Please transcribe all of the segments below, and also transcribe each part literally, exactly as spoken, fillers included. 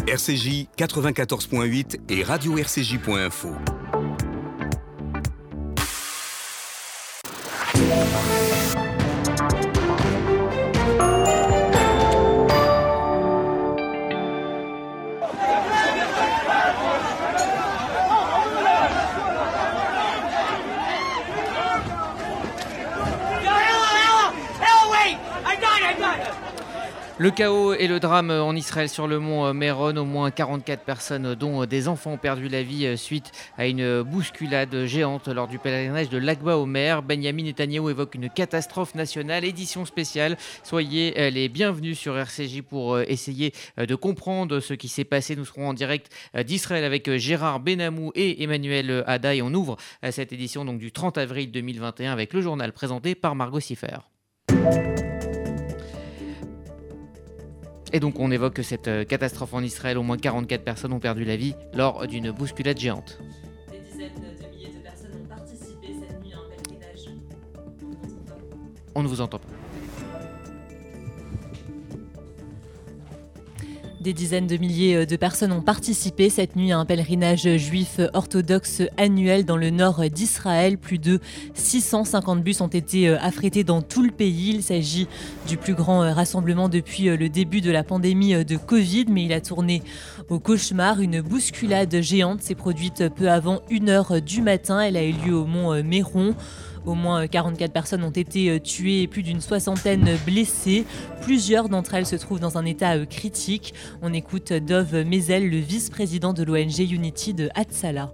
R C J quatre-vingt-quatorze point huit et radio r c j point info. Le chaos et le drame en Israël sur le mont Meron. Au moins quarante-quatre personnes, dont des enfants, ont perdu la vie suite à une bousculade géante lors du pèlerinage de l'Akba Omer. Benjamin Netanyahou évoque une catastrophe nationale, édition spéciale. Soyez les bienvenus sur R C J pour essayer de comprendre ce qui s'est passé. Nous serons en direct d'Israël avec Gérard Benamou et Emmanuel Hada. Et on ouvre cette édition donc, du trente avril deux mille vingt et un avec le journal présenté par Margot Siffer. Et donc on évoque cette catastrophe en Israël. Au moins quarante-quatre personnes ont perdu la vie lors d'une bousculade géante. Des dizaines de milliers de personnes ont participé cette nuit à un pèlerinage. On ne vous entend pas. Des dizaines de milliers de personnes ont participé cette nuit à un pèlerinage juif orthodoxe annuel dans le nord d'Israël. Plus de six cent cinquante bus ont été affrétés dans tout le pays. Il s'agit du plus grand rassemblement depuis le début de la pandémie de Covid, mais il a tourné au cauchemar. Une bousculade géante s'est produite peu avant une heure du matin. Elle a eu lieu au mont Meron. Au moins quarante-quatre personnes ont été tuées et plus d'une soixantaine blessées. Plusieurs d'entre elles se trouvent dans un état critique. On écoute Dov Mezel, le vice-président de l'O N G Unity de Hatzalah.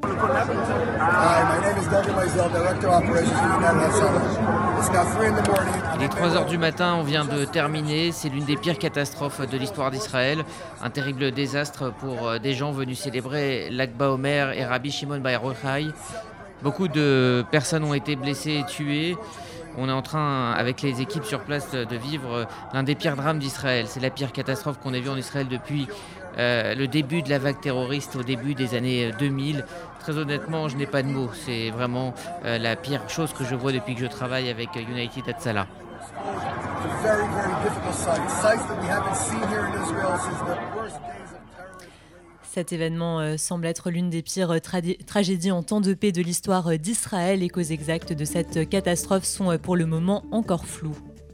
Il est trois heures du matin, on vient de terminer. C'est l'une des pires catastrophes de l'histoire d'Israël. Un terrible désastre pour des gens venus célébrer l'Akba Omer et Rabbi Shimon Bar Yochai. Beaucoup de personnes ont été blessées et tuées. On est en train, avec les équipes sur place, de vivre l'un des pires drames d'Israël. C'est la pire catastrophe qu'on ait vue en Israël depuis euh, le début de la vague terroriste, au début des années deux mille. Très honnêtement, je n'ai pas de mots. C'est vraiment euh, la pire chose que je vois depuis que je travaille avec United Hatzalah. Cet événement euh, semble être l'une des pires tra- tragédies en temps de paix de l'histoire d'Israël. Les causes exactes de cette catastrophe sont euh, pour le moment encore floues.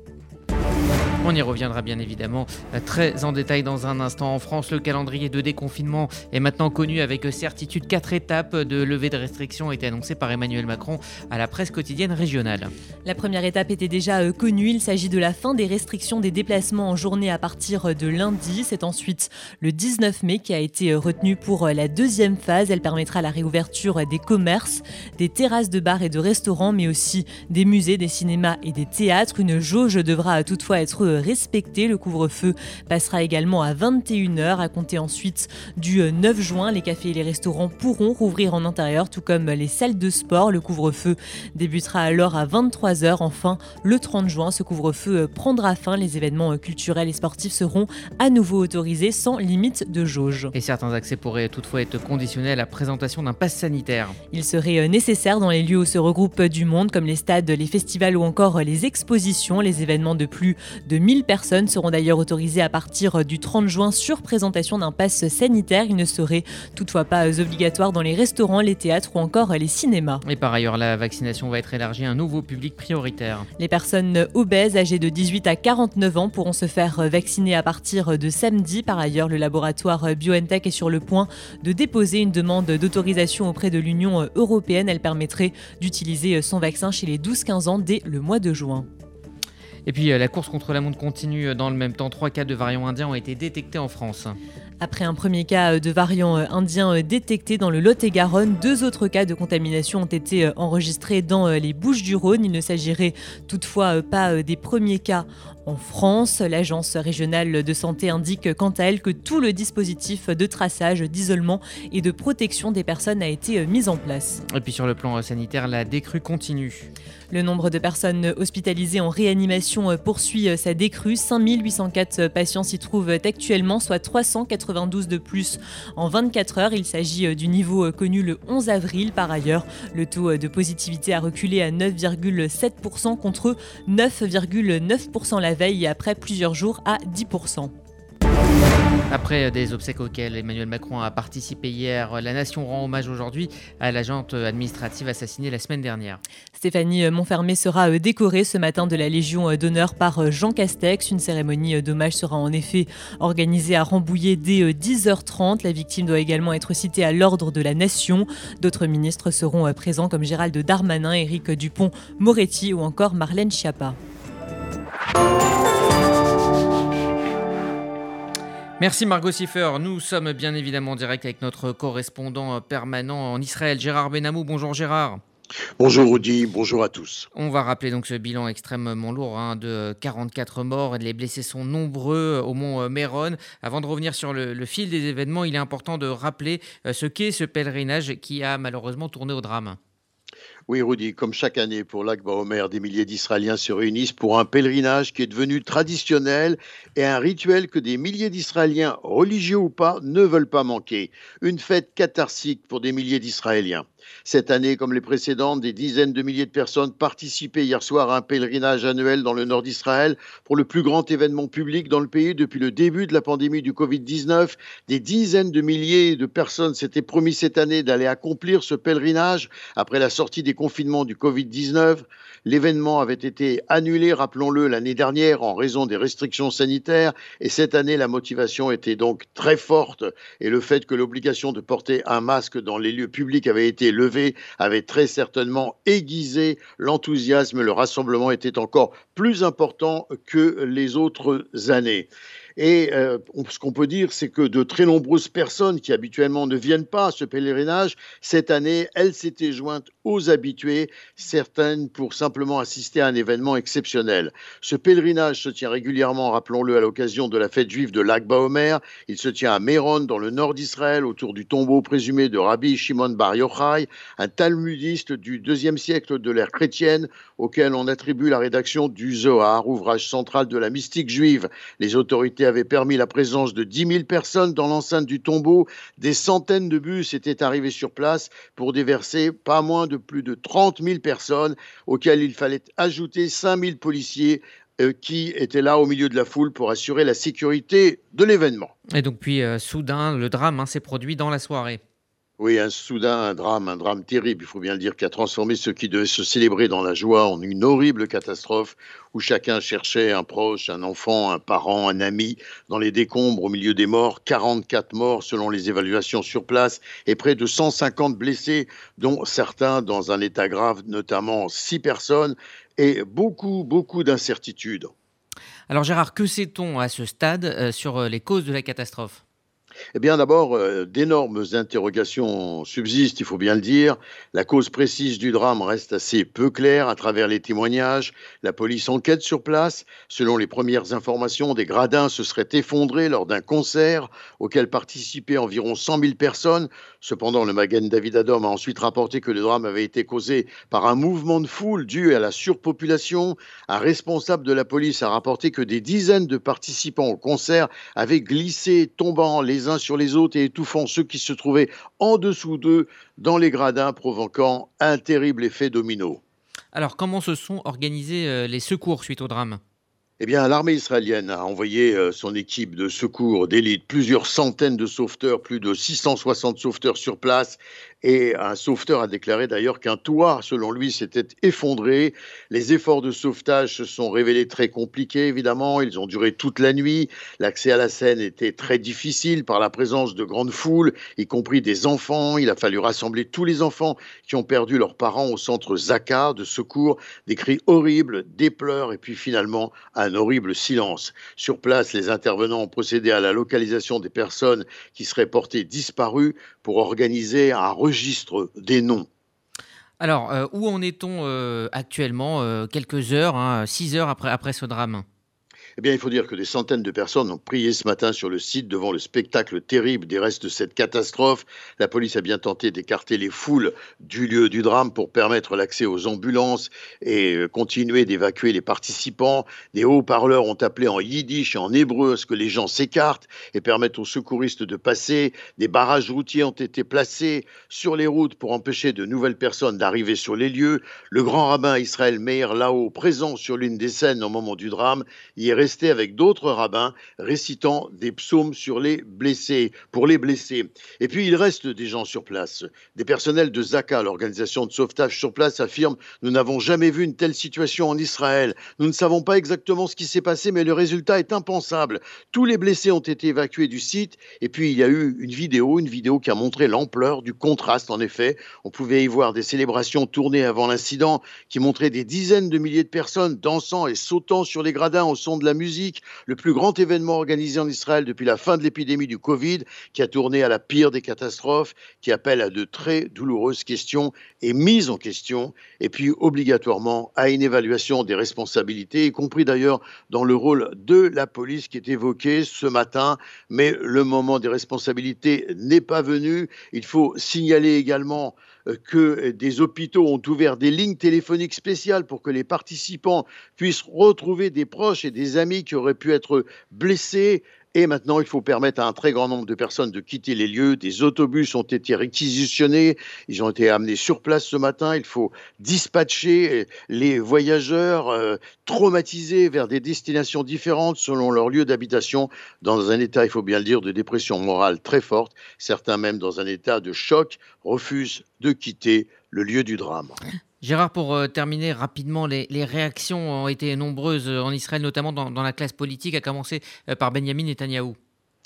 On y reviendra bien évidemment très en détail dans un instant. En France, le calendrier de déconfinement est maintenant connu avec certitude. Quatre étapes de levée de restrictions ont été annoncées par Emmanuel Macron à la presse quotidienne régionale. La première étape était déjà connue. Il s'agit de la fin des restrictions des déplacements en journée à partir de lundi. C'est ensuite le dix-neuf mai qui a été retenu pour la deuxième phase. Elle permettra la réouverture des commerces, des terrasses de bars et de restaurants, mais aussi des musées, des cinémas et des théâtres. Une jauge devra toutefois être respecté. Le couvre-feu passera également à vingt et une heures. À compter ensuite du neuf juin, les cafés et les restaurants pourront rouvrir en intérieur, tout comme les salles de sport. Le couvre-feu débutera alors à vingt-trois heures. Enfin, le trente juin, ce couvre-feu prendra fin. Les événements culturels et sportifs seront à nouveau autorisés sans limite de jauge. Et certains accès pourraient toutefois être conditionnés à la présentation d'un pass sanitaire. Il serait nécessaire dans les lieux où se regroupent du monde, comme les stades, les festivals ou encore les expositions. Les événements de plus de mille personnes seront d'ailleurs autorisées à partir du trente juin sur présentation d'un pass sanitaire. Il ne serait toutefois pas obligatoire dans les restaurants, les théâtres ou encore les cinémas. Et par ailleurs, la vaccination va être élargie à un nouveau public prioritaire. Les personnes obèses âgées de dix-huit à quarante-neuf ans pourront se faire vacciner à partir de samedi. Par ailleurs, le laboratoire BioNTech est sur le point de déposer une demande d'autorisation auprès de l'Union européenne. Elle permettrait d'utiliser son vaccin chez les douze quinze ans dès le mois de juin. Et puis la course contre la montre continue dans le même temps. Trois cas de variants indiens ont été détectés en France. Après un premier cas de variant indien détecté dans le Lot-et-Garonne, deux autres cas de contamination ont été enregistrés dans les Bouches-du-Rhône. Il ne s'agirait toutefois pas des premiers cas en France. L'agence régionale de santé indique quant à elle que tout le dispositif de traçage, d'isolement et de protection des personnes a été mis en place. Et puis sur le plan sanitaire, la décrue continue. Le nombre de personnes hospitalisées en réanimation poursuit sa décrue. cinq mille huit cent quatre patients s'y trouvent actuellement, soit trois cent quatre-vingt-douze de plus en vingt-quatre heures. Il s'agit du niveau connu le onze avril. Par ailleurs, le taux de positivité a reculé à neuf virgule sept pour cent contre neuf virgule neuf pour cent la veille et après plusieurs jours à dix pour cent. Après des obsèques auxquelles Emmanuel Macron a participé hier, la nation rend hommage aujourd'hui à l'agente administrative assassinée la semaine dernière. Stéphanie Monfermé sera décorée ce matin de la Légion d'honneur par Jean Castex. Une cérémonie d'hommage sera en effet organisée à Rambouillet dès dix heures trente. La victime doit également être citée à l'ordre de la Nation. D'autres ministres seront présents comme Gérald Darmanin, Éric Dupond-Moretti ou encore Marlène Schiappa. Merci Margot Siffer. Nous sommes bien évidemment en direct avec notre correspondant permanent en Israël, Gérard Benamou. Bonjour Gérard. Bonjour Rudy, bonjour à tous. On va rappeler donc ce bilan extrêmement lourd hein, de quarante-quatre morts. Les blessés sont nombreux au mont Méron. Avant de revenir sur le, le fil des événements, il est important de rappeler ce qu'est ce pèlerinage qui a malheureusement tourné au drame. Oui, Rudy, comme chaque année pour l'Akba Omer, des milliers d'Israéliens se réunissent pour un pèlerinage qui est devenu traditionnel et un rituel que des milliers d'Israéliens, religieux ou pas, ne veulent pas manquer. Une fête catharsique pour des milliers d'Israéliens. Cette année, comme les précédentes, des dizaines de milliers de personnes participaient hier soir à un pèlerinage annuel dans le nord d'Israël pour le plus grand événement public dans le pays depuis le début de la pandémie du covid dix-neuf. Des dizaines de milliers de personnes s'étaient promis cette année d'aller accomplir ce pèlerinage après la sortie des confinements du covid dix-neuf. L'événement avait été annulé, rappelons-le, l'année dernière en raison des restrictions sanitaires et cette année, la motivation était donc très forte et le fait que l'obligation de porter un masque dans les lieux publics avait été levée avait très certainement aiguisé l'enthousiasme. Le rassemblement était encore plus important que les autres années. Et euh, ce qu'on peut dire, c'est que de très nombreuses personnes qui habituellement ne viennent pas à ce pèlerinage, cette année, elles s'étaient jointes aux habitués, certaines pour simplement assister à un événement exceptionnel. Ce pèlerinage se tient régulièrement, rappelons-le, à l'occasion de la fête juive de l'Akba Omer. Il se tient à Méron, dans le nord d'Israël, autour du tombeau présumé de Rabbi Shimon Bar Yochai, un talmudiste du deuxième siècle de l'ère chrétienne, auquel on attribue la rédaction du Zohar, ouvrage central de la mystique juive. Les autorités avait permis la présence de dix mille personnes dans l'enceinte du tombeau. Des centaines de bus étaient arrivés sur place pour déverser pas moins de plus de trente mille personnes, auxquelles il fallait ajouter cinq mille policiers euh, qui étaient là au milieu de la foule pour assurer la sécurité de l'événement. Et donc puis euh, soudain, le drame hein, s'est produit dans la soirée. Oui, un soudain, un drame, un drame terrible, il faut bien le dire, qui a transformé ce qui devait se célébrer dans la joie en une horrible catastrophe où chacun cherchait un proche, un enfant, un parent, un ami dans les décombres au milieu des morts. quarante-quatre morts selon les évaluations sur place et près de cent cinquante blessés, dont certains dans un état grave, notamment six personnes et beaucoup, beaucoup d'incertitudes. Alors Gérard, que sait-on à ce stade euh, sur les causes de la catastrophe ? Eh bien, d'abord, euh, d'énormes interrogations subsistent, il faut bien le dire. La cause précise du drame reste assez peu claire à travers les témoignages. La police enquête sur place. Selon les premières informations, des gradins se seraient effondrés lors d'un concert auquel participaient environ cent mille personnes. Cependant, le Magen David Adom a ensuite rapporté que le drame avait été causé par un mouvement de foule dû à la surpopulation. Un responsable de la police a rapporté que des dizaines de participants au concert avaient glissé, tombant les uns sur les autres et étouffant ceux qui se trouvaient en dessous d'eux dans les gradins, provoquant un terrible effet domino. Alors, comment se sont organisés euh, les secours suite au drame ? Eh bien, l'armée israélienne a envoyé euh, son équipe de secours d'élite, plusieurs centaines de sauveteurs, plus de six cent soixante sauveteurs sur place. Et un sauveteur a déclaré d'ailleurs qu'un toit, selon lui, s'était effondré. Les efforts de sauvetage se sont révélés très compliqués, évidemment. Ils ont duré toute la nuit. L'accès à la scène était très difficile par la présence de grandes foules, y compris des enfants. Il a fallu rassembler tous les enfants qui ont perdu leurs parents au centre Zaka de secours. Des cris horribles, des pleurs et puis finalement un horrible silence. Sur place, les intervenants ont procédé à la localisation des personnes qui seraient portées disparues pour organiser un registre des noms. Alors, euh, où en est-on euh, actuellement, euh, quelques heures, hein, six heures après, après ce drame ? Eh bien, il faut dire que des centaines de personnes ont prié ce matin sur le site devant le spectacle terrible des restes de cette catastrophe. La police a bien tenté d'écarter les foules du lieu du drame pour permettre l'accès aux ambulances et continuer d'évacuer les participants. Des haut-parleurs ont appelé en yiddish et en hébreu à ce que les gens s'écartent et permettent aux secouristes de passer. Des barrages routiers ont été placés sur les routes pour empêcher de nouvelles personnes d'arriver sur les lieux. Le grand rabbin Israël Meir Lao, présent sur l'une des scènes au moment du drame, y est restait avec d'autres rabbins récitant des psaumes sur les blessés, pour les blessés. Et puis il reste des gens sur place. Des personnels de Zaka, l'organisation de sauvetage sur place, affirment « Nous n'avons jamais vu une telle situation en Israël. Nous ne savons pas exactement ce qui s'est passé, mais le résultat est impensable. Tous les blessés ont été évacués du site. » Et puis il y a eu une vidéo, une vidéo qui a montré l'ampleur du contraste. En effet, on pouvait y voir des célébrations tournées avant l'incident qui montraient des dizaines de milliers de personnes dansant et sautant sur les gradins au son de la musique. Le plus grand événement organisé en Israël depuis la fin de l'épidémie du Covid, qui a tourné à la pire des catastrophes, qui appelle à de très douloureuses questions et mises en question, et puis obligatoirement à une évaluation des responsabilités, y compris d'ailleurs dans le rôle de la police qui est évoqué ce matin. Mais le moment des responsabilités n'est pas venu. Il faut signaler également que des hôpitaux ont ouvert des lignes téléphoniques spéciales pour que les participants puissent retrouver des proches et des amis qui auraient pu être blessés. Et maintenant, il faut permettre à un très grand nombre de personnes de quitter les lieux. Des autobus ont été réquisitionnés. Ils ont été amenés sur place ce matin. Il faut dispatcher les voyageurs euh, traumatisés vers des destinations différentes selon leur lieu d'habitation, dans un état, il faut bien le dire, de dépression morale très forte. Certains même dans un état de choc refusent de quitter le lieu du drame. Gérard, pour euh, terminer rapidement, les, les réactions ont été nombreuses en Israël, notamment dans, dans la classe politique, à commencer euh, par Benjamin Netanyahou.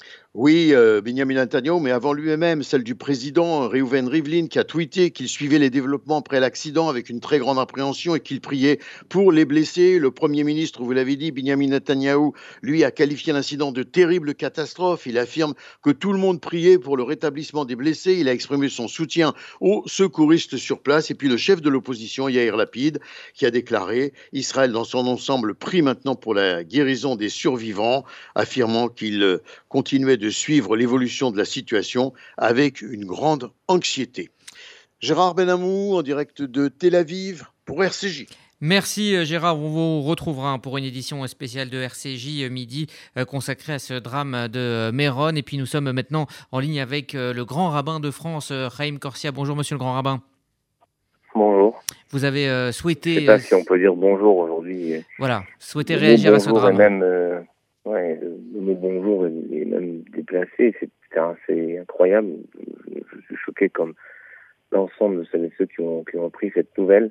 Oui, euh, Benjamin Netanyahu, mais avant lui-même, celle du président Reuven Rivlin, qui a tweeté qu'il suivait les développements après l'accident avec une très grande appréhension et qu'il priait pour les blessés. Le Premier ministre, vous l'avez dit, Benjamin Netanyahu, lui, a qualifié l'incident de terrible catastrophe. Il affirme que tout le monde priait pour le rétablissement des blessés. Il a exprimé son soutien aux secouristes sur place. Et puis le chef de l'opposition, Yair Lapid, qui a déclaré « Israël dans son ensemble prie maintenant pour la guérison des survivants », affirmant qu'il continuait de suivre l'évolution de la situation avec une grande anxiété. Gérard Benamou, en direct de Tel Aviv pour R C J. Merci Gérard, on vous retrouvera pour une édition spéciale de R C J midi consacrée à ce drame de Méron. Et puis nous sommes maintenant en ligne avec le grand rabbin de France, Chaim Corsia. Bonjour monsieur le grand rabbin. Bonjour. Vous avez euh, souhaité... Je ne sais pas si on peut dire bonjour aujourd'hui. Voilà, souhaité réagir à ce drame. Même, euh, ouais, le mot bonjour est même déplacé, c'est, c'est incroyable. Je, je suis choqué comme l'ensemble de celles et ceux qui ont, qui ont appris cette nouvelle.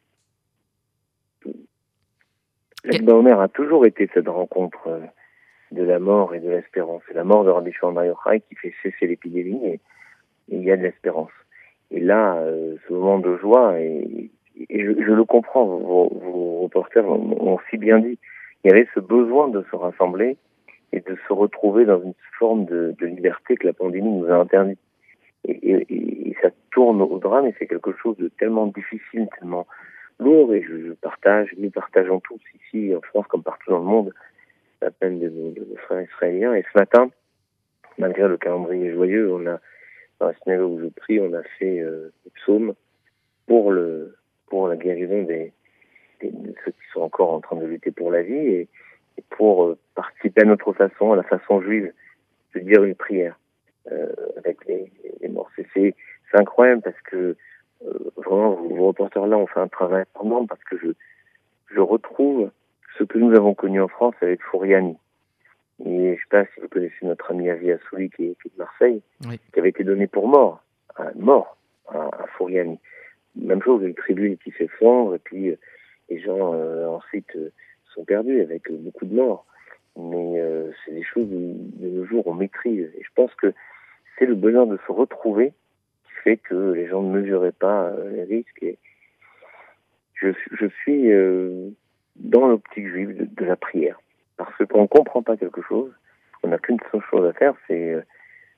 Lag BaOmer a toujours été cette rencontre de la mort et de l'espérance. C'est la mort de Rabbi Shimon Bar Yochai qui fait cesser l'épidémie et, et il y a de l'espérance. Et là, euh, ce moment de joie, et, et je, je le comprends, vos, vos reporters l'ont si bien dit, il y avait ce besoin de se rassembler et de se retrouver dans une forme de, de liberté que la pandémie nous a interdite. Et, et, et ça tourne au drame et c'est quelque chose de tellement difficile, tellement lourd, et je, je partage, nous partageons tous ici en France comme partout dans le monde la peine de nos frères israéliens. Et ce matin, malgré le calendrier joyeux, on a, dans la synagogue où je prie, on a fait euh, des psaumes pour le pour la guérison des, des de ceux qui sont encore en train de lutter pour la vie et, et pour euh, participer à notre façon, à la façon juive, de dire une prière euh, avec les, les morts. C'est, c'est, c'est incroyable parce que euh, vraiment, vos, vos reporters-là ont fait un travail énorme parce que je je retrouve ce que nous avons connu en France avec Fouriani. Et je ne sais pas si vous connaissez notre ami Avi Assouli qui est, qui est de Marseille, oui, qui avait été donné pour mort, à, mort à, à Fouriani. Même chose, une tribu qui s'effondre et puis euh, les gens euh, ensuite euh, sont perdus avec euh, beaucoup de morts. Mais euh, c'est des choses de nos jours on maîtrise. Et je pense que c'est le bonheur de se retrouver qui fait que les gens ne mesuraient pas euh, les risques. Et je, je suis euh, dans l'optique juive de, de la prière. Parce qu'on ne comprend pas quelque chose, on n'a qu'une seule chose à faire, c'est euh,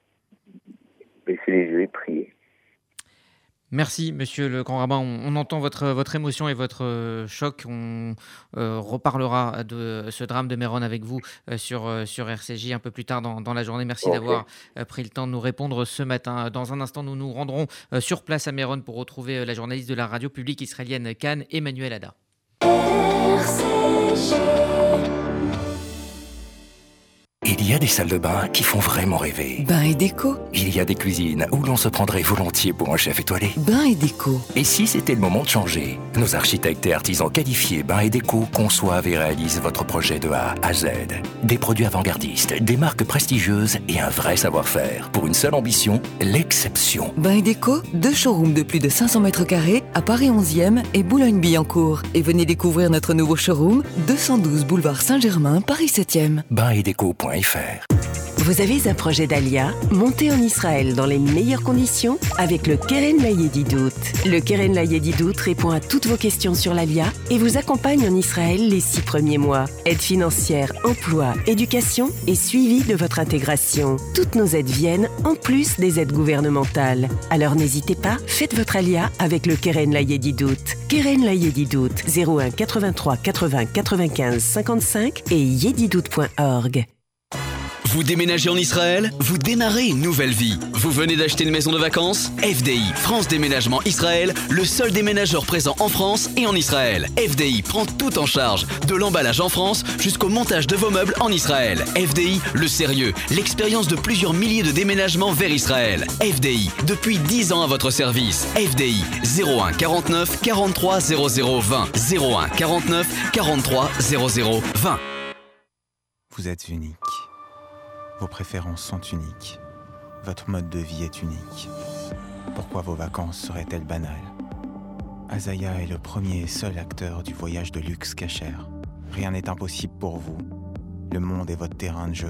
baisser les yeux et prier. Merci, monsieur le grand rabbin. On, on entend votre, votre émotion et votre euh, choc. On euh, reparlera de ce drame de Méron avec vous euh, sur, euh, sur R C J un peu plus tard dans, dans la journée. Merci okay. d'avoir euh, pris le temps de nous répondre ce matin. Dans un instant, nous nous rendrons euh, sur place à Méron pour retrouver euh, la journaliste de la radio publique israélienne Cannes, Emmanuel Ada. R C J. Il y a des salles de bain qui font vraiment rêver. Bain et déco. Il y a des cuisines où l'on se prendrait volontiers pour un chef étoilé. Bain et déco. Et si c'était le moment de changer? Nos architectes et artisans qualifiés Bain et Déco conçoivent et réalisent votre projet de A à Z. Des produits avant-gardistes, des marques prestigieuses et un vrai savoir-faire. Pour une seule ambition, l'exception. Bain et Déco, deux showrooms de plus de cinq cents mètres carrés à Paris onzième et Boulogne-Billancourt. Et venez découvrir notre nouveau showroom, deux cent douze boulevard Saint-Germain, Paris septième. bain et déco point f r. Vous avez un projet d'Alia? Montez en Israël dans les meilleures conditions avec le Keren Layedidout. Le Keren Layedidout répond à toutes vos questions sur l'Alia et vous accompagne en Israël les six premiers mois. Aide financière, emploi, éducation et suivi de votre intégration. Toutes nos aides viennent en plus des aides gouvernementales. Alors n'hésitez pas, faites votre Alia avec le Keren Layedidout. Keren Layedidout, zéro un quatre-vingt-trois quatre-vingts quatre-vingt-quinze cinquante-cinq et yedidout point org. Vous déménagez en Israël? Vous démarrez une nouvelle vie. Vous venez d'acheter une maison de vacances? F D I, France Déménagement Israël, le seul déménageur présent en France et en Israël. F D I prend tout en charge, de l'emballage en France jusqu'au montage de vos meubles en Israël. F D I, le sérieux, l'expérience de plusieurs milliers de déménagements vers Israël. F D I, depuis dix ans à votre service. F D I, zéro un quarante-neuf quarante-trois zéro zéro vingt. zéro un quarante-neuf quarante-trois zéro zéro vingt. Vous êtes unique. Vos préférences sont uniques. Votre mode de vie est unique. Pourquoi vos vacances seraient-elles banales? Azaya est le premier et seul acteur du voyage de luxe Cacher. Rien n'est impossible pour vous. Le monde est votre terrain de jeu.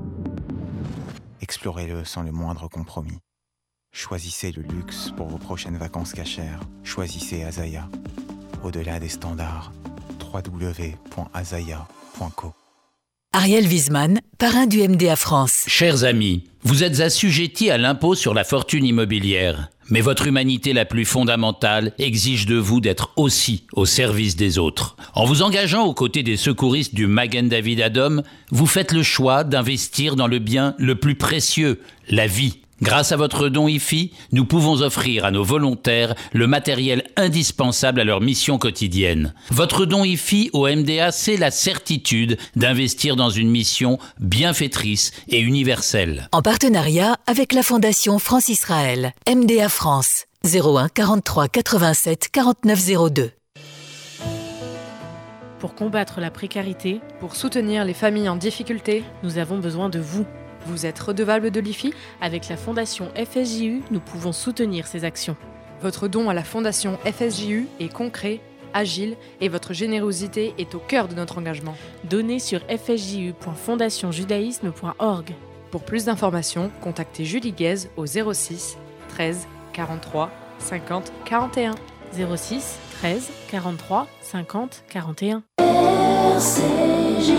Explorez-le sans le moindre compromis. Choisissez le luxe pour vos prochaines vacances Cacher. Choisissez Azaya. Au-delà des standards, w w w point azaya point co. Ariel Wiesman, parrain du M D A France. Chers amis, vous êtes assujettis à l'impôt sur la fortune immobilière. Mais votre humanité la plus fondamentale exige de vous d'être aussi au service des autres. En vous engageant aux côtés des secouristes du Magen David Adom, vous faites le choix d'investir dans le bien le plus précieux, la vie. Grâce à votre don I F I, nous pouvons offrir à nos volontaires le matériel indispensable à leur mission quotidienne. Votre don I F I au M D A, c'est la certitude d'investir dans une mission bienfaitrice et universelle. En partenariat avec la Fondation France-Israël, M D A France, zéro un quarante-trois quatre-vingt-sept quarante-neuf zéro deux. Pour combattre la précarité, pour soutenir les familles en difficulté, nous avons besoin de vous. Vous êtes redevable de l'I F I? Avec la Fondation F S J U, nous pouvons soutenir ces actions. Votre don à la Fondation F S J U est concret, agile et votre générosité est au cœur de notre engagement. Donnez sur f s j u point fondation judaïsme point org. Pour plus d'informations, contactez Julie Guez au zéro six treize quarante-trois cinquante quarante et un. zéro six treize quarante-trois cinquante quarante et un. R C J.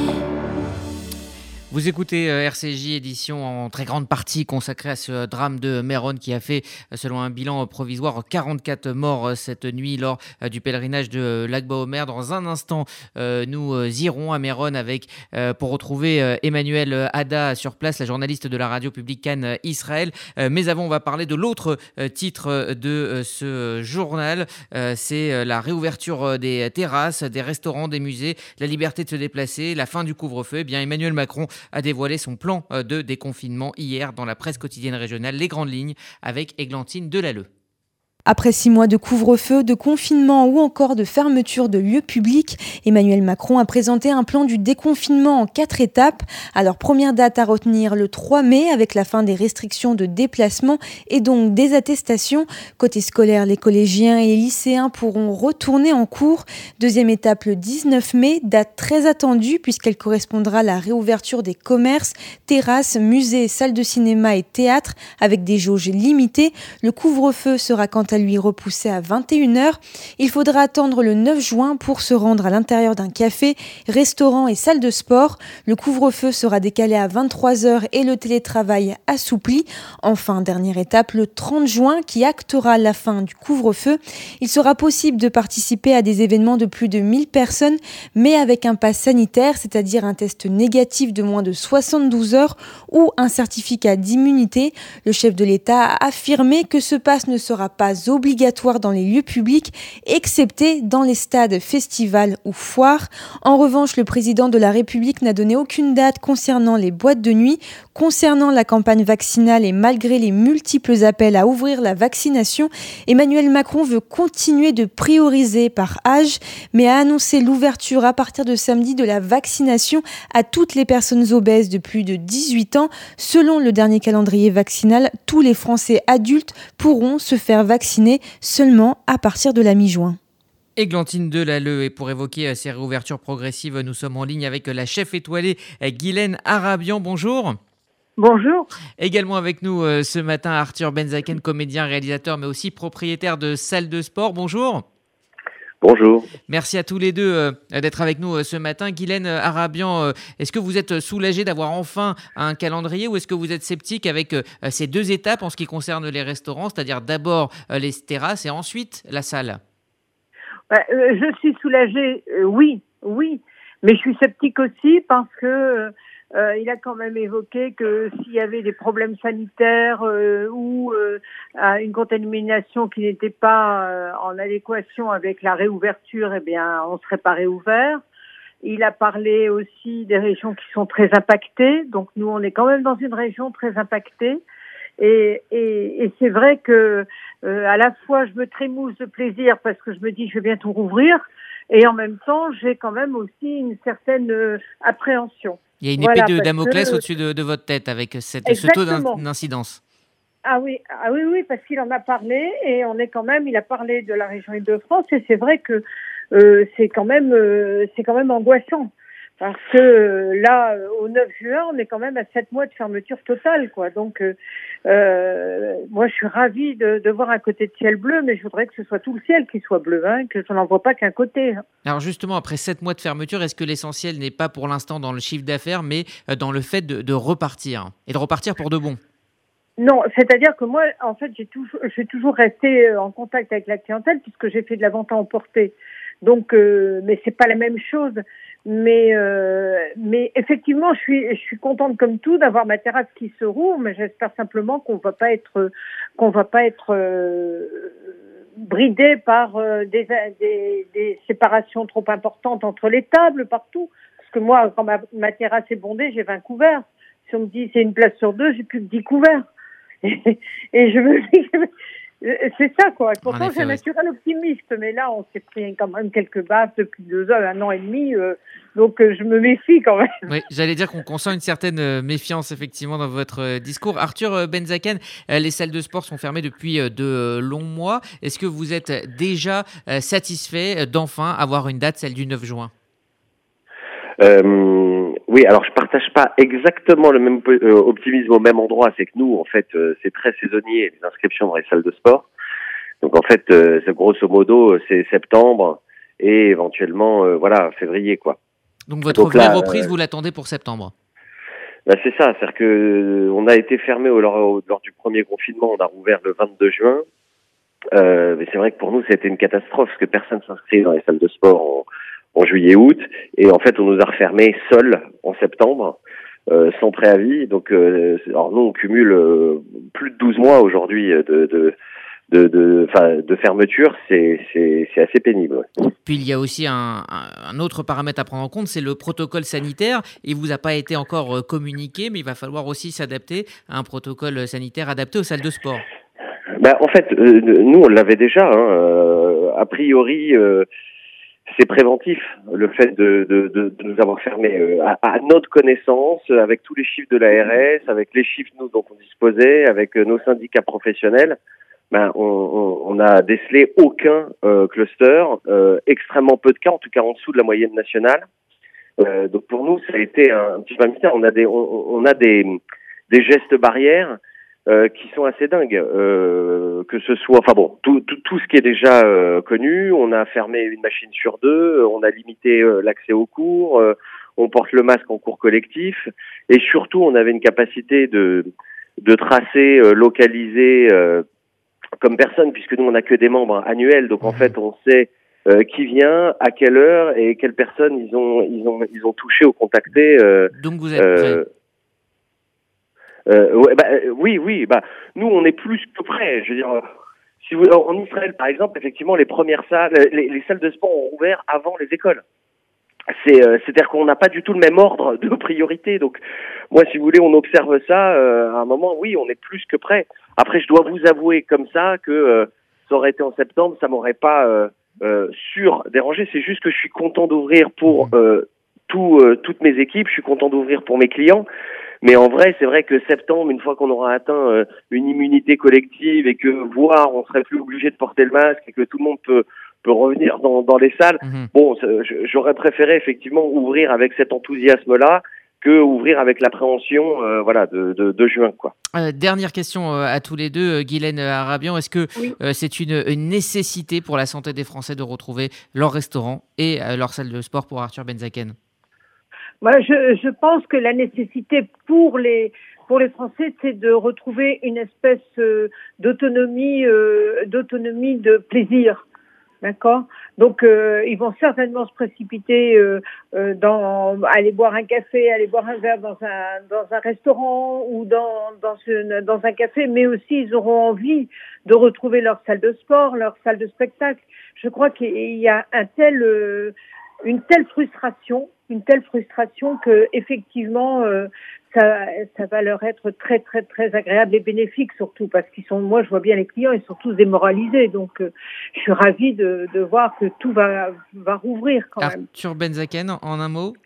Vous écoutez R C J, édition en très grande partie consacrée à ce drame de Méron qui a fait, selon un bilan provisoire, quarante-quatre morts cette nuit lors du pèlerinage de Lag BaOmer. Dans un instant, nous irons à Méron avec, pour retrouver Emmanuel Hada sur place, la journaliste de la radio publique Cannes Israël. Mais avant, on va parler de l'autre titre de ce journal. C'est la réouverture des terrasses, des restaurants, des musées, la liberté de se déplacer, la fin du couvre-feu. Eh bien, Emmanuel Macron a dévoilé son plan de déconfinement hier dans la presse quotidienne régionale. Les grandes lignes avec Églantine Delalleux. Après six mois de couvre-feu, de confinement ou encore de fermeture de lieux publics, Emmanuel Macron a présenté un plan du déconfinement en quatre étapes. Alors, première date à retenir, le trois mai, avec la fin des restrictions de déplacement et donc des attestations. Côté scolaire, les collégiens et les lycéens pourront retourner en cours. Deuxième étape, le dix-neuf mai, date très attendue puisqu'elle correspondra à la réouverture des commerces, terrasses, musées, salles de cinéma et théâtres avec des jauges limitées. Le couvre-feu sera quant à lui repoussé à vingt et une heures. Il faudra attendre le neuf juin pour se rendre à l'intérieur d'un café, restaurant et salle de sport. Le couvre-feu sera décalé à vingt-trois heures et le télétravail assoupli. Enfin, dernière étape, le trente juin qui actera la fin du couvre-feu. Il sera possible de participer à des événements de plus de mille personnes, mais avec un pass sanitaire, c'est-à-dire un test négatif de moins de soixante-douze heures ou un certificat d'immunité. Le chef de l'État a affirmé que ce pass ne sera pas obligatoire dans les lieux publics, excepté dans les stades, festivals ou foires. En revanche, le président de la République n'a donné aucune date concernant les boîtes de nuit. Concernant la campagne vaccinale et malgré les multiples appels à ouvrir la vaccination, Emmanuel Macron veut continuer de prioriser par âge, mais a annoncé l'ouverture à partir de samedi de la vaccination à toutes les personnes obèses de plus de dix-huit ans. Selon le dernier calendrier vaccinal, tous les Français adultes pourront se faire vacciner seulement à partir de la mi-juin. Églantine Delalleux, et pour évoquer ces réouvertures progressives, nous sommes en ligne avec la chef étoilée Guylaine Arabian. Bonjour. Bonjour. Également avec nous euh, ce matin Arthur Benzaken, comédien, réalisateur, mais aussi propriétaire de salle de sport. Bonjour. Bonjour. Merci à tous les deux euh, d'être avec nous euh, ce matin. Guylaine Arabian, euh, est-ce que vous êtes soulagé d'avoir enfin un calendrier ou est-ce que vous êtes sceptique avec euh, ces deux étapes en ce qui concerne les restaurants, c'est-à-dire d'abord euh, les terrasses et ensuite la salle? bah, euh, Je suis soulagée, euh, oui, oui, mais je suis sceptique aussi parce que Euh, il a quand même évoqué que s'il y avait des problèmes sanitaires euh, ou euh, une contamination qui n'était pas euh, en adéquation avec la réouverture, eh bien, on ne serait pas réouvert. Il a parlé aussi des régions qui sont très impactées. Donc, nous, on est quand même dans une région très impactée. Et, et, et c'est vrai que euh, à la fois, je me trémousse de plaisir parce que je me dis je vais bientôt rouvrir. Et en même temps, j'ai quand même aussi une certaine euh, appréhension. Il y a une voilà, épée de Damoclès que... au-dessus de, de votre tête avec cette, ce taux d'incidence. Ah oui, ah oui, oui, parce qu'il en a parlé et on est quand même, il a parlé de la région Île-de-France et c'est vrai que euh, c'est quand même, euh, c'est quand même angoissant. Parce que euh, là, euh, au neuf juin, on est quand même à sept mois de fermeture totale, quoi. Donc, euh, euh, moi, je suis ravie de, de voir un côté de ciel bleu, mais je voudrais que ce soit tout le ciel qui soit bleu, hein, que je n'en vois pas qu'un côté. Hein. Alors justement, après sept mois de fermeture, est-ce que l'essentiel n'est pas pour l'instant dans le chiffre d'affaires, mais dans le fait de, de repartir, et de repartir pour de bon? Non, c'est-à-dire que moi, en fait, j'ai toujours, j'ai toujours resté en contact avec la clientèle puisque j'ai fait de la vente à emporter. Donc, euh, mais c'est pas la même chose. Mais, euh, mais effectivement, je suis, je suis contente comme tout d'avoir ma terrasse qui se rouvre. Mais j'espère simplement qu'on va pas être, qu'on va pas être euh, bridé par euh, des, des, des séparations trop importantes entre les tables partout. Parce que moi, quand ma, ma terrasse est bondée, j'ai vingt couverts. Si on me dit c'est une place sur deux, j'ai plus que dix couverts. Et, et je me dis, c'est ça quoi. Pourtant effet, j'ai un naturel oui. optimiste, mais là on s'est pris quand même quelques baffes depuis deux ans, un an et demi, euh, donc euh, je me méfie quand même. Oui, j'allais dire qu'on, qu'on sent une certaine euh, méfiance effectivement dans votre euh, discours. Arthur euh, Benzaken, euh, les salles de sport sont fermées depuis euh, de euh, longs mois. Est-ce que vous êtes déjà euh, satisfait d'enfin avoir une date, celle du neuf juin? Euh, oui, alors je partage pas exactement le même euh, optimisme au même endroit. C'est que nous, en fait, euh, c'est très saisonnier les inscriptions dans les salles de sport. Donc en fait, euh, c'est grosso modo, c'est septembre et éventuellement, euh, voilà, février, quoi. Donc votre Donc, vraie là, reprise, euh, vous l'attendez pour septembre? Bah c'est ça, c'est-à-dire que euh, on a été fermé au, lors, lors du premier confinement, on a rouvert le vingt-deux juin. Euh, mais c'est vrai que pour nous, c'était une catastrophe parce que personne s'inscrit dans les salles de sport en en juillet-août, et en fait on nous a refermés seuls en septembre, euh, sans préavis. Donc, euh, alors nous on cumule euh, plus de douze mois aujourd'hui de de de de, enfin, de fermeture, c'est c'est c'est assez pénible. Ouais. Puis il y a aussi un, un autre paramètre à prendre en compte, c'est le protocole sanitaire. Il vous a pas été encore communiqué, mais il va falloir aussi s'adapter à un protocole sanitaire adapté aux salles de sport. Ben en fait, euh, nous on l'avait déjà. Hein, euh, a priori. Euh, C'est préventif, le fait de, de, de, de nous avoir fermés à, à notre connaissance, avec tous les chiffres de l'A R S, avec les chiffres nous dont on disposait, avec nos syndicats professionnels. Ben, on, on, on a décelé aucun euh, cluster, euh, extrêmement peu de cas, en tout cas en dessous de la moyenne nationale. Euh, donc pour nous, ça a été un petit peu un mystère. On a des, on, on a des, des gestes barrières. Euh, qui sont assez dingues, euh, que ce soit, enfin bon, tout, tout, tout ce qui est déjà euh, connu. On a fermé une machine sur deux, on a limité euh, l'accès aux cours, euh, on porte le masque en cours collectif, et surtout on avait une capacité de de tracer, euh, localiser euh, comme personne, puisque nous on n'a que des membres annuels, donc en fait on sait euh, qui vient, à quelle heure et quelles personnes ils ont ils ont ils ont touché ou contacté. Euh, donc vous êtes prêts. Euh, Euh, ouais, bah, oui, oui. Bah, nous, on est plus que prêts. Je veux dire, si vous, en Israël, par exemple, effectivement, les premières salles, les, les salles de sport ont ouvert avant les écoles. C'est, euh, c'est-à-dire qu'on n'a pas du tout le même ordre de priorité. Donc, moi, si vous voulez, on observe ça. Euh, à un moment, oui, on est plus que prêt. Après, je dois vous avouer comme ça que euh, ça aurait été en septembre, ça m'aurait pas euh, euh, sûr dérangé. C'est juste que je suis content d'ouvrir pour euh, tout, euh, toutes mes équipes. Je suis content d'ouvrir pour mes clients. Mais en vrai, c'est vrai que septembre, une fois qu'on aura atteint euh, une immunité collective et que, voire, on serait plus obligé de porter le masque et que tout le monde peut peut revenir dans, dans les salles, mmh. bon, j'aurais préféré effectivement ouvrir avec cet enthousiasme-là que ouvrir avec l'appréhension euh, voilà, de, de, de juin, quoi. Euh, dernière question euh, à tous les deux, Guylaine Arabian. Est-ce que oui. euh, c'est une, une nécessité pour la santé des Français de retrouver leur restaurant et euh, leur salle de sport pour Arthur Benzaken? Moi, je, je pense que la nécessité pour les pour les Français, c'est de retrouver une espèce euh, d'autonomie, euh, d'autonomie de plaisir. D'accord. Donc euh, ils vont certainement se précipiter euh, euh, dans aller boire un café, aller boire un verre dans un dans un restaurant ou dans dans une, dans un café, mais aussi ils auront envie de retrouver leur salle de sport, leur salle de spectacle. Je crois qu'il y a un tel euh, une telle frustration, une telle frustration que effectivement euh, ça ça va leur être très très très agréable et bénéfique, surtout parce qu'ils sont, moi je vois bien les clients, ils sont tous démoralisés, donc euh, je suis ravie de de voir que tout va va rouvrir quand même. Arthur Benzaken, en un mot.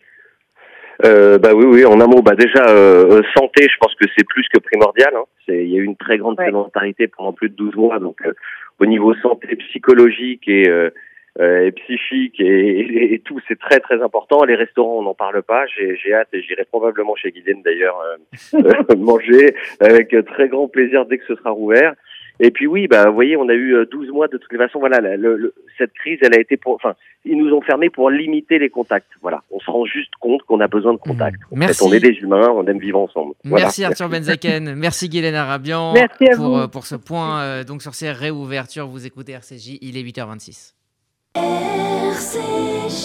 Euh, bah oui, oui, en un mot, bah déjà euh, santé, je pense que c'est plus que primordial. Hein. C'est, il y a eu une très grande ouais. sédentarité pendant plus de douze mois, donc euh, au niveau santé psychologique et euh, Euh, et psychique et, et, et tout, c'est très très important. Les restaurants, on n'en parle pas. J'ai, j'ai hâte et j'irai probablement chez Guylaine d'ailleurs euh, euh, manger avec très grand plaisir dès que ce sera rouvert. Et puis oui, bah vous voyez, on a eu douze mois de toutes les façons. Voilà, la, le, le, cette crise, elle a été pour, enfin, ils nous ont fermés pour limiter les contacts. Voilà, on se rend juste compte qu'on a besoin de contacts. Mmh. Merci. En fait, on est des humains, on aime vivre ensemble. Voilà. Merci Arthur Benzaken, merci Guylaine Arabian. Merci à pour vous. pour ce point euh, donc sur ces réouvertures. Vous écoutez R C J, il est huit heures vingt-six. R C J.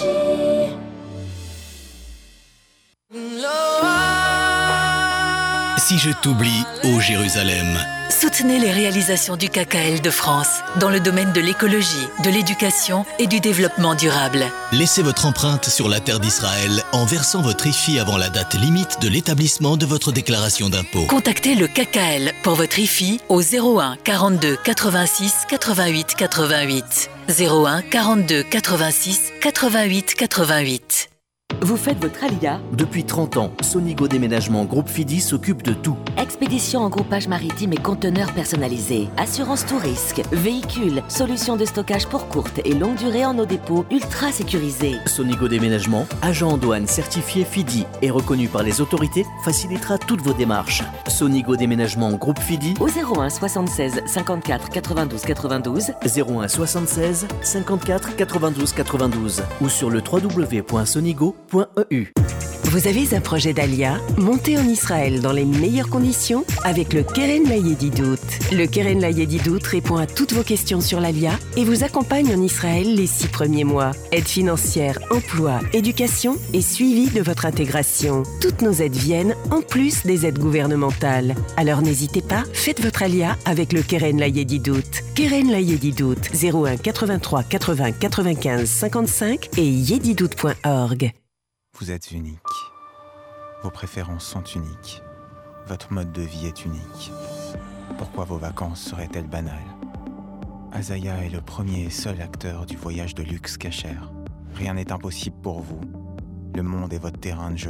Si je t'oublie, ô Jérusalem. Soutenez les réalisations du K K L de France dans le domaine de l'écologie, de l'éducation et du développement durable. Laissez votre empreinte sur la terre d'Israël en versant votre I F I avant la date limite de l'établissement de votre déclaration d'impôt. Contactez le K K L pour votre I F I au zéro un quarante-deux quatre-vingt-six quatre-vingt-huit quatre-vingt-huit. zéro un quarante-deux quatre-vingt-six quatre-vingt-huit quatre-vingt-huit. Vous faites votre Alia? Depuis trente ans, Sonigo Déménagement Groupe Fidi s'occupe de tout. Expédition en groupage maritime et conteneurs personnalisés, assurance tout risque, véhicules, solutions de stockage pour courte et longue durée en nos dépôts ultra sécurisés. Sonigo Déménagement, agent en douane certifié Fidi et reconnu par les autorités, facilitera toutes vos démarches. Sonigo Déménagement Groupe Fidi au zéro un soixante-seize cinquante-quatre quatre-vingt-douze quatre-vingt-douze, zéro un soixante-seize cinquante-quatre quatre-vingt-douze quatre-vingt-douze ou sur le w w w point sonigo point e u. Vous avez un projet d'Alia? Montez en Israël dans les meilleures conditions avec le Keren Layedidout. Le Keren Layedidout répond à toutes vos questions sur l'Alia et vous accompagne en Israël les six premiers mois. Aide financière, emploi, éducation et suivi de votre intégration. Toutes nos aides viennent en plus des aides gouvernementales. Alors n'hésitez pas, faites votre Alia avec le Keren Layedidout. Keren Layedidout, zéro un quatre-vingt-trois quatre-vingts quatre-vingt-quinze cinquante-cinq et yedidout point org. Vous êtes unique. Vos préférences sont uniques. Votre mode de vie est unique. Pourquoi vos vacances seraient-elles banales? Azaya est le premier et seul acteur du voyage de luxe cachère. Rien n'est impossible pour vous. Le monde est votre terrain de jeu.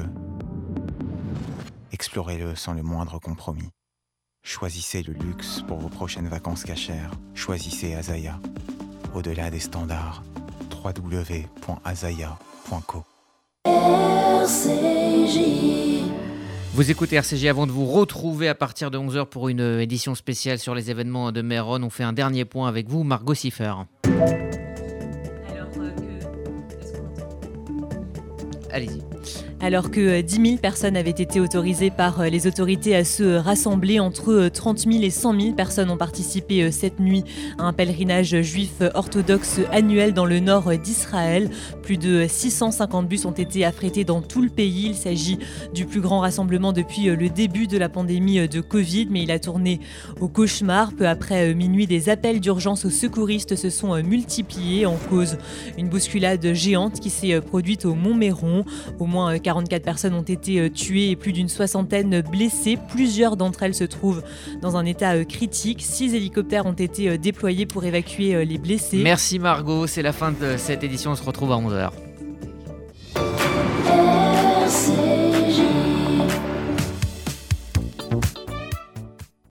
Explorez-le sans le moindre compromis. Choisissez le luxe pour vos prochaines vacances cachères. Choisissez Azaya. Au-delà des standards, w w w point azaya point co. R C J. Vous écoutez R C J avant de vous retrouver à partir de onze heures pour une édition spéciale sur les événements de Meron. On fait un dernier point avec vous, Margot Siffer. Alors, euh, que... Est-ce qu'on entend ? Allez-y. Alors que dix mille personnes avaient été autorisées par les autorités à se rassembler, entre trente mille et cent mille personnes ont participé cette nuit à un pèlerinage juif orthodoxe annuel dans le nord d'Israël. Plus de six cent cinquante bus ont été affrétés dans tout le pays. Il s'agit du plus grand rassemblement depuis le début de la pandémie de Covid, mais il a tourné au cauchemar. Peu après minuit, des appels d'urgence aux secouristes se sont multipliés, en cause une bousculade géante qui s'est produite au Montméron. Au moins quarante-quatre personnes ont été tuées et plus d'une soixantaine blessées. Plusieurs d'entre elles se trouvent dans un état critique. Six hélicoptères ont été déployés pour évacuer les blessés. Merci Margot, c'est la fin de cette édition, on se retrouve à onze heures.